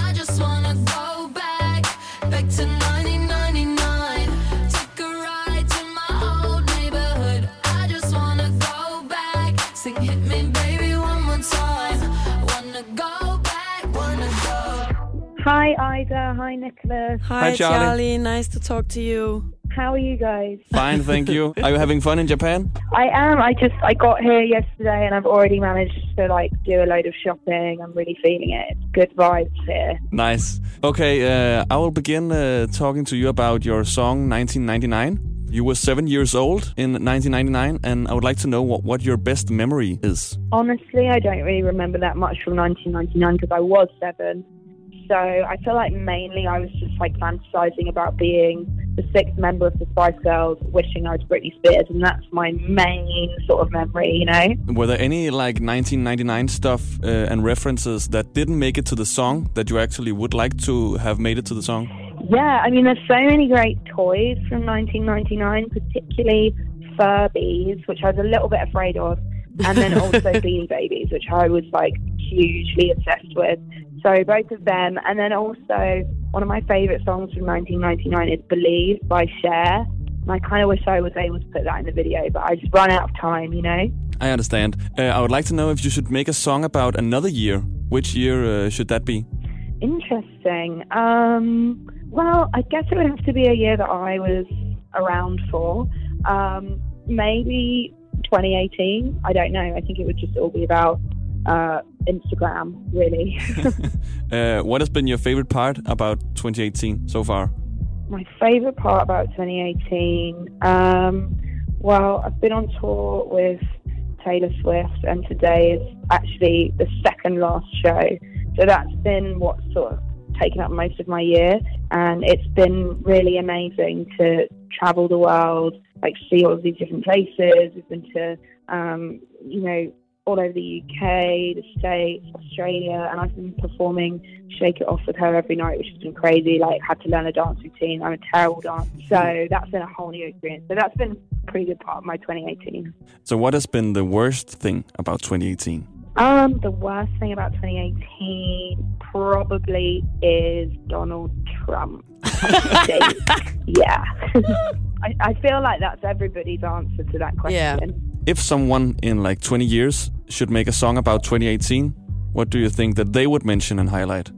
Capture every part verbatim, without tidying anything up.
I just wanna go back, back to nineteen ninety-nine. Take a ride to my old neighborhood. I just wanna go back, sing hit me baby one more time. Wanna go back, wanna go. Hi Ida, hi Nicholas. Hi, Hi, Charlie. Charlie. Nice to talk to you. How are you guys? Fine, thank you. Are you having fun in Japan? I am. I just I got here yesterday and I've already managed to like do a load of shopping. I'm really feeling it. It's good vibes here. Nice. Okay, uh, I will begin uh, talking to you about your song nineteen ninety-nine. You were seven years old in nineteen ninety-nine, and I would like to know what, what your best memory is. Honestly, I don't really remember that much from nineteen ninety-nine because I was seven. So I feel like mainly I was just like fantasizing about being the sixth member of the Spice Girls, wishing I was Britney Spears, and that's my main sort of memory, you know? Were there any like nineteen ninety-nine stuff uh, and references that didn't make it to the song that you actually would like to have made it to the song? Yeah, I mean, there's so many great toys from nineteen ninety-nine, particularly Furbies, which I was a little bit afraid of, and then also Beanie Babies, which I was like hugely obsessed with. So both of them, and then also one of my favourite songs from nineteen ninety-nine is Believe by Cher. And I kind of wish I was able to put that in the video, but I just run out of time, you know? I understand. Uh, I would like to know if you should make a song about another year. Which year uh, should that be? Interesting. Um, well, I guess it would have to be a year that I was around for. Um, maybe twenty eighteen. I don't know. I think it would just all be about uh, Instagram, really. uh, what has been your favorite part about twenty eighteen so far? My favourite part about twenty eighteen? Um, well, I've been on tour with Taylor Swift, and today is actually the second last show. So that's been what's sort of taken up most of my year, and it's been really amazing to travel the world, like see all of these different places. We've been to, um, you know, all over the U K, the States, Australia, and I've been performing Shake It Off with her every night, which has been crazy. Like, had to learn a dance routine. I'm a terrible dancer. So that's been a whole new experience. So that's been a pretty good part of my twenty eighteen. So what has been the worst thing about twenty eighteen? Um, the worst thing about twenty eighteen probably is Donald Trump. I think. Yeah. I, I feel like that's everybody's answer to that question. Yeah. If someone in like twenty years should make a song about twenty eighteen, what do you think that they would mention and highlight?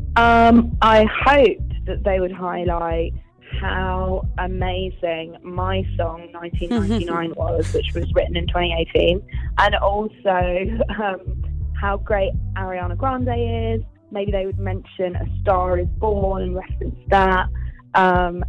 Um, I hoped that they would highlight how amazing my song nineteen ninety-nine was, which was written in twenty eighteen, and also um, how great Ariana Grande is. Maybe they would mention A Star Is Born and reference that. Um,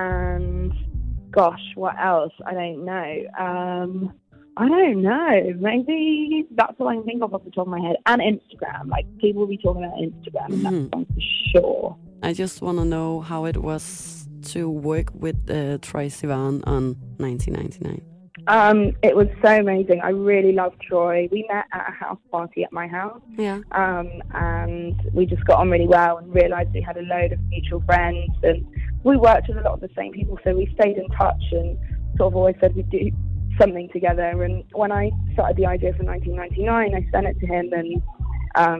and gosh, what else? I don't know. Um, I don't know. Maybe that's all I can think of off the top of my head. And Instagram. Like, people will be talking about Instagram, and Mm-hmm. that's song for sure. I just want to know how it was to work with uh, Troye Sivan on nineteen ninety-nine. Um, it was so amazing. I really loved Troy. We met at a house party at my house. Yeah. Um, and we just got on really well and realised we had a load of mutual friends, and we worked with a lot of the same people, so we stayed in touch and sort of always said we'd do something together. And when I started the idea for nineteen ninety-nine, I sent it to him, and um,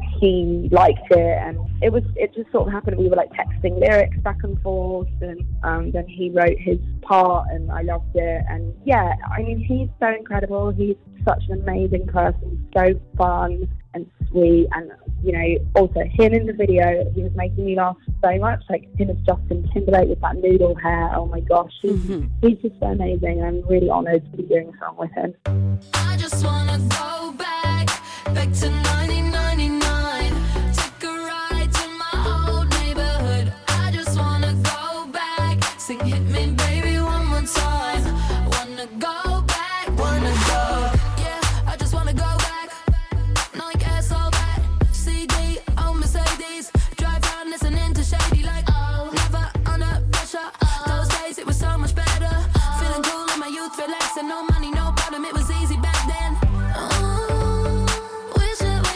he liked it, and it was it just sort of happened. We were like texting lyrics back and forth, and um, then he wrote his part, and I loved it. And yeah, I mean, he's so incredible. He's such an amazing person, so fun and sweet, and you know, also him in the video, he was making me laugh so much. Like him as Justin Timberlake with that noodle hair. Oh my gosh, he's, Mm-hmm. he's just so amazing. I'm really honoured to be doing a song with him. I just wanna go back, back to nineteen ninety-nine. Take a ride to my old neighborhood. I just wanna go back, sing hit me baby one more time. Wanna go back, wanna go. Yeah, I just wanna go back. Nike ass all that. C D on Mercedes. Drive around listening to Shady like oh, never under pressure. Those days it was so much better. Feeling cool in my youth, relaxing, no money, no problem. It was easy back then. Oh, wish it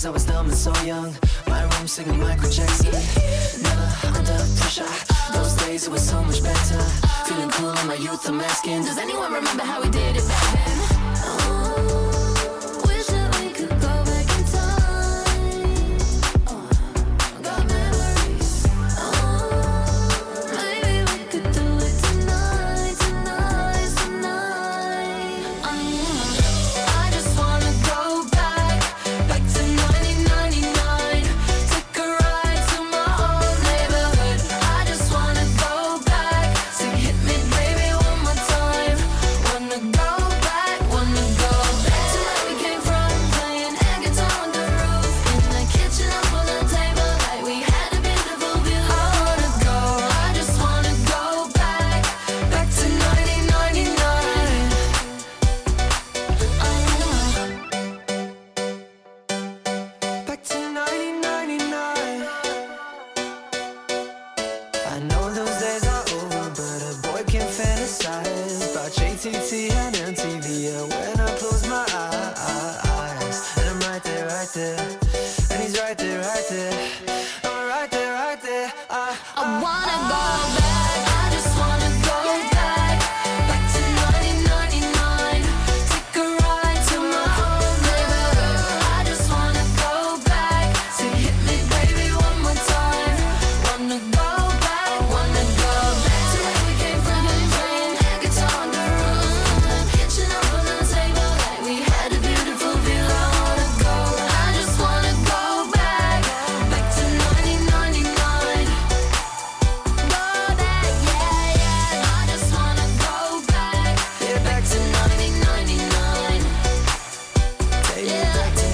Cause I was dumb and so young. My room singing Michael Jackson. Never under pressure. Those days it was so much better. Feeling cool in my youth, I'm asking, does anyone remember how we did it back then? Oh, wish that we could go back in time. Oh, got memories. Oh, maybe we could do it tonight, tonight, tonight. Oh, I just wanna go back, back to nineteen ninety-nine. Take a ride to my old neighborhood. I just wanna go back. Sing hit me baby one more time. Wanna go back, wanna go back to where we came from. Playing air guitar on the roof. In the kitchen up on the table. Like we had a beautiful view. I wanna go, I just wanna go back, back to nineteen ninety-nine. Oh, Back to nineteen ninety-nine. I know those days are over, but a boy can fantasize about J T T and M T V. Yeah, when I close my eyes, and I'm right there, right there, and he's right there, right there. I'm right there, right there. I, I wanna go back, I just wanna go back, back to nineteen ninety-nine. Take a ride to my old neighborhood. I just wanna go back, sing hit me baby one more time. Wanna go back, wanna go back to where we came from. Playing air guitar on the roof. In the kitchen up on the table. Like we had a beautiful view. I wanna go, I just wanna go back, back to nineteen ninety-nine. Go back, yeah, yeah. I just wanna go back, yeah, back to nineteen ninety-nine. take me back to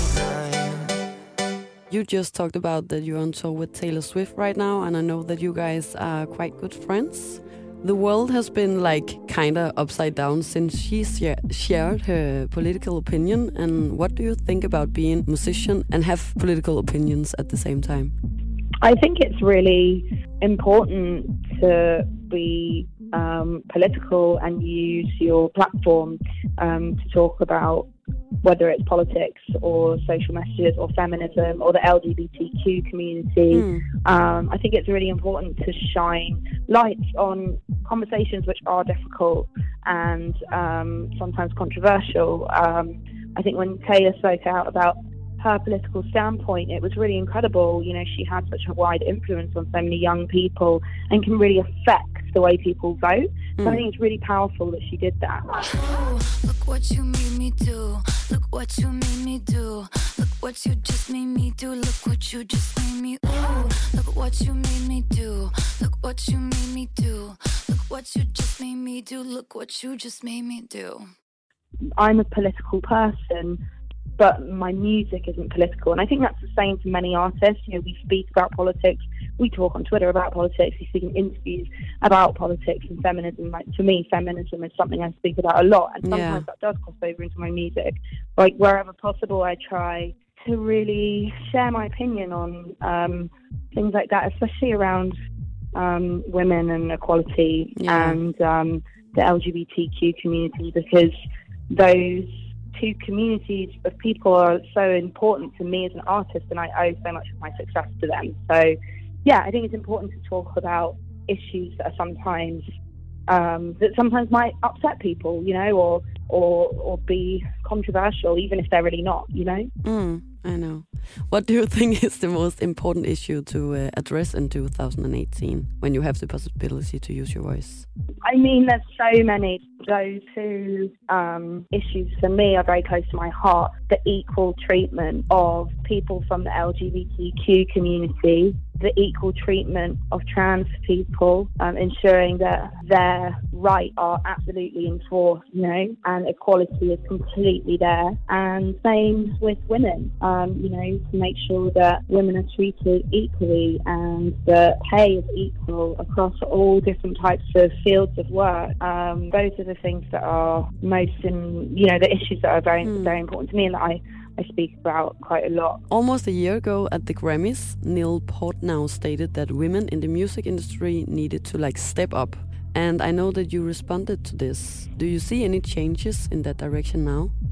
ninety-nine. You just talked about that you're on tour with Taylor Swift right now, and I know that you guys are quite good friends. The world has been like kinda upside down since she share- shared her political opinion. And what do you think about being a musician and have political opinions at the same time? I think it's really important to be um, political and use your platform um, to talk about whether it's politics or social messages or feminism or the L G B T Q community. Mm. Um, I think it's really important to shine light on conversations which are difficult and um, sometimes controversial. Um, I think when Taylor spoke out about her political standpoint, it was really incredible. You know, she had such a wide influence on so many young people and can really affect the way people vote. So I think it's really powerful that she did that. Ooh, look what you made me do. Look what you made me do. Look what you just made me do. Look what you just made me. Ooh, look what you made me do. Look what you made me do. Look what you just made me do. Look what you just made me do. I'm a political person, but my music isn't political. And I think that's the same for many artists. You know, we speak about politics, we talk on Twitter about politics, we speak in interviews about politics and feminism. Like, for me, feminism is something I speak about a lot, and sometimes Yeah. that does cross over into my music. Like, wherever possible, I try to really share my opinion on um, things like that, especially around um, women and equality Yeah. and um, the L G B T Q community, because those two communities of people are so important to me as an artist, and I owe so much of my success to them. So yeah, I think it's important to talk about issues that are sometimes um, that sometimes might upset people, you know, or or or be controversial, even if they're really not, you know. Mm, I know. What do you think is the most important issue to uh, address in two thousand eighteen when you have the possibility to use your voice? I mean, there's so many. Those two um, issues for me are very close to my heart. The equal treatment of people from the L G B T Q community, the equal treatment of trans people, um, ensuring that their rights are absolutely enforced, you know, and equality is completely there. And same with women, um, you know, to make sure that women are treated equally and that pay is equal across all different types of fields of work. Um, those are the things that are most in, you know, the issues that are very, Hmm. very important to me and that I, I speak about quite a lot. Almost a year ago at the Grammys, Neil Portnow stated that women in the music industry needed to like step up. And I know that you responded to this. Do you see any changes in that direction now?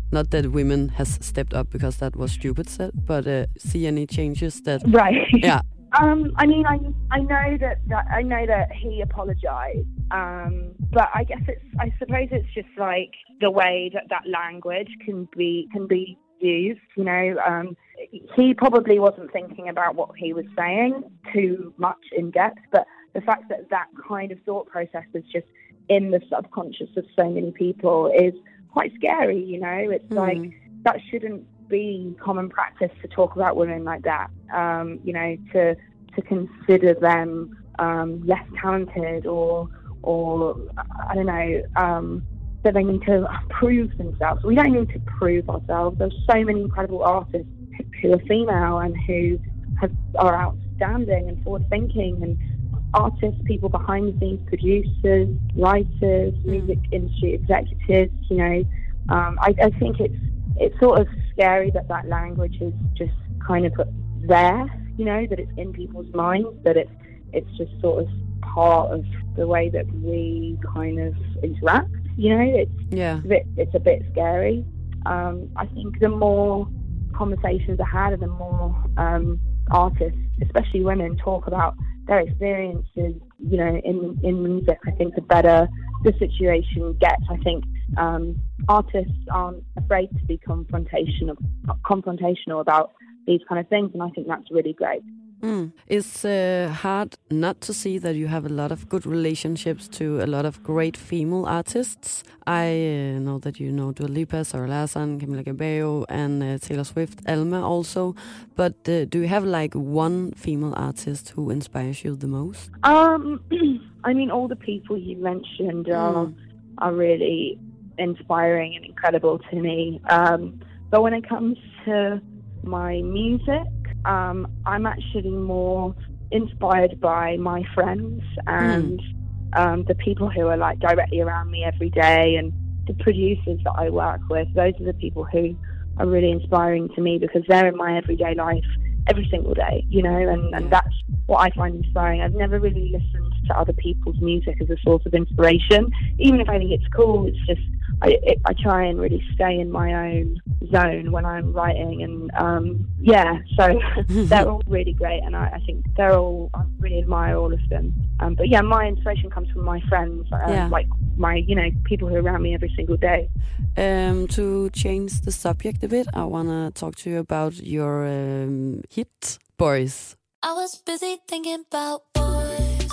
not that women has stepped up because that was stupid said, but uh, see any changes that... Right. Yeah. Um, I mean, I I know that, that I know that he apologised, um, but I guess it's I suppose it's just like the way that that language can be can be used. You know, um, he probably wasn't thinking about what he was saying too much in depth, but the fact that that kind of thought process is just in the subconscious of so many people is quite scary. You know, it's mm. like that shouldn't be common practice to talk about women like that. Um, you know, to to consider them um, less talented or or I don't know um, that they need to prove themselves. We don't need to prove ourselves. There's so many incredible artists who are female and who have, are outstanding and forward thinking, and artists, people behind the scenes, producers, writers, music industry executives. You know, um, I, I think it's. It's sort of scary that that language is just kind of there, you know, that it's in people's minds, that it's it's just sort of part of the way that we kind of interact, you know. It's yeah. a bit, it's a bit scary. Um, I think the more conversations are had and the more um, artists, especially women, talk about their experiences, you know, in in music, I think the better the situation gets. I think um, artists aren't afraid to be confrontational, confrontational about these kind of things, and I think that's really great. Mm. It's uh, hard not to see that you have a lot of good relationships to a lot of great female artists. I uh, know that you know Dua Lipa, Sarah Larsson, Camila Cabello, and uh, Taylor Swift, Alma also. But uh, do you have like one female artist who inspires you the most? Um, I mean, all the people you mentioned are mm. are really inspiring and incredible to me. Um, but when it comes to my music, Um, I'm actually more inspired by my friends and mm. um, the people who are like directly around me every day, and the producers that I work with. Those are the people who are really inspiring to me because they're in my everyday life every single day, you know, and, and that's what I find inspiring. I've never really listened to other people's music as a source of inspiration. Even if I think it's cool, it's just I, it, I try and really stay in my own zone when I'm writing, and um, yeah, so they're all really great, and I, I think they're all, I really admire all of them. Um, but yeah, my inspiration comes from my friends, um, yeah. like my, you know, people who are around me every single day. Um, to change the subject a bit, I want to talk to you about your um, hit, Boys. I was busy thinking about boys,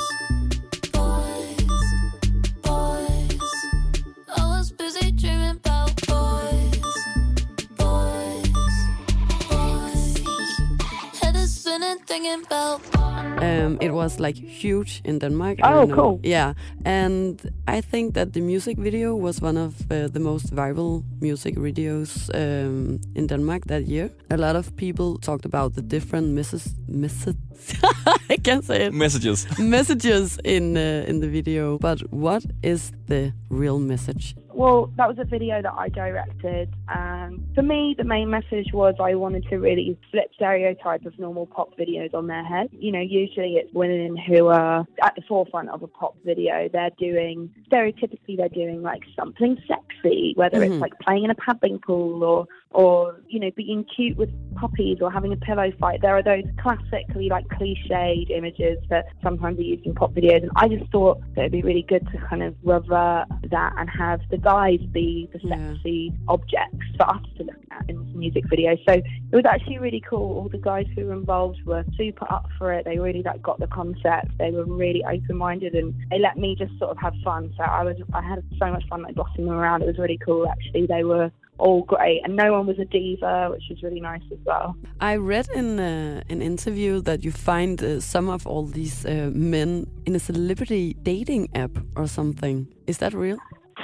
boys, boys. I was busy dreaming about boys, boys, boys. Head is spinning thinking about Um, it was like huge in Denmark. Oh, I don't know. cool. Yeah, and I think that the music video was one of uh, the most viral music videos um, in Denmark that year. A lot of people talked about the different misses, misses I can't say it. Messages. Messages in uh, in the video. But what is the real message? Well, that was a video that I directed, and for me, the main message was I wanted to really flip stereotype of normal pop videos on their head. You know, usually it's women who are at the forefront of a pop video. They're doing, stereotypically, they're doing like something sexy, whether mm-hmm. it's like playing in a paddling pool or, or, you know, being cute with puppies or having a pillow fight. There are those classically like cliched images that sometimes are used in pop videos, and I just thought that it'd be really good to kind of revert that and have the guys be the sexy yeah. objects for us to look at in this music video. So it was actually really cool. All the guys who were involved were super up for it. They really like got the concept. They were really open-minded, and they let me just sort of have fun. So I was, I had so much fun like bossing them around. It was really cool actually. They were all great, and no one was a diva, which was really nice as well. I read in uh, an interview that you find uh, some of all these uh, men in a celebrity dating app or something. Is that real?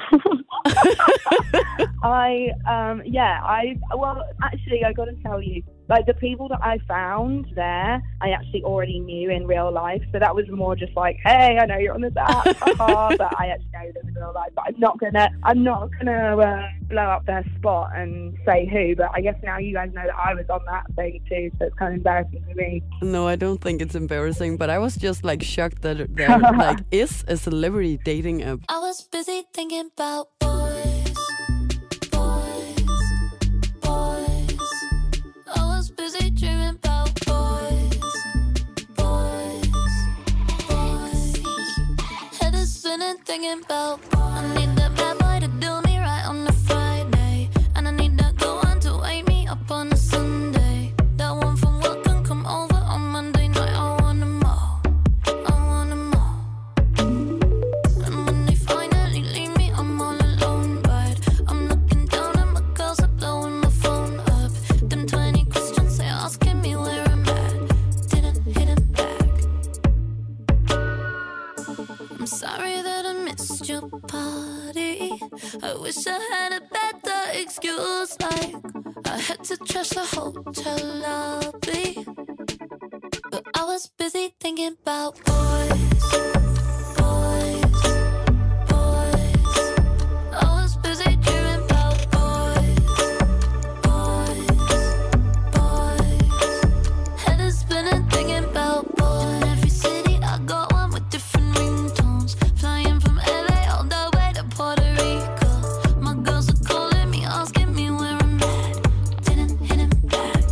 I, um, yeah, I, well, actually, I got to tell you, like, the people that I found there, I actually already knew in real life. So that was more just like, hey, I know you're on this app, but I actually know them in real life. But I'm not gonna, I'm not gonna uh, blow up their spot and say who. But I guess now you guys know that I was on that thing too, so it's kind of embarrassing for me. No, I don't think it's embarrassing. But I was just like shocked that there like is a celebrity dating app. I was busy thinking about boys, boys, lovely, but I was busy thinking about boys, boys, boys. I was busy dreaming about boys, boys, boys. Head is spinning thinking about boys. In every city I got one with different ringtones. Flying from L A all the way to Puerto Rico. My girls are calling me, asking me where I'm at. Didn't hit him back.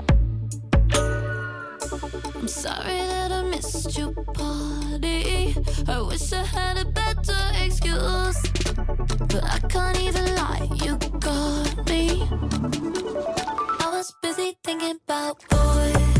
I'm sorry that I missed your party. I wish I had a better excuse, but I can't even lie, you got me. I was busy thinking about boys.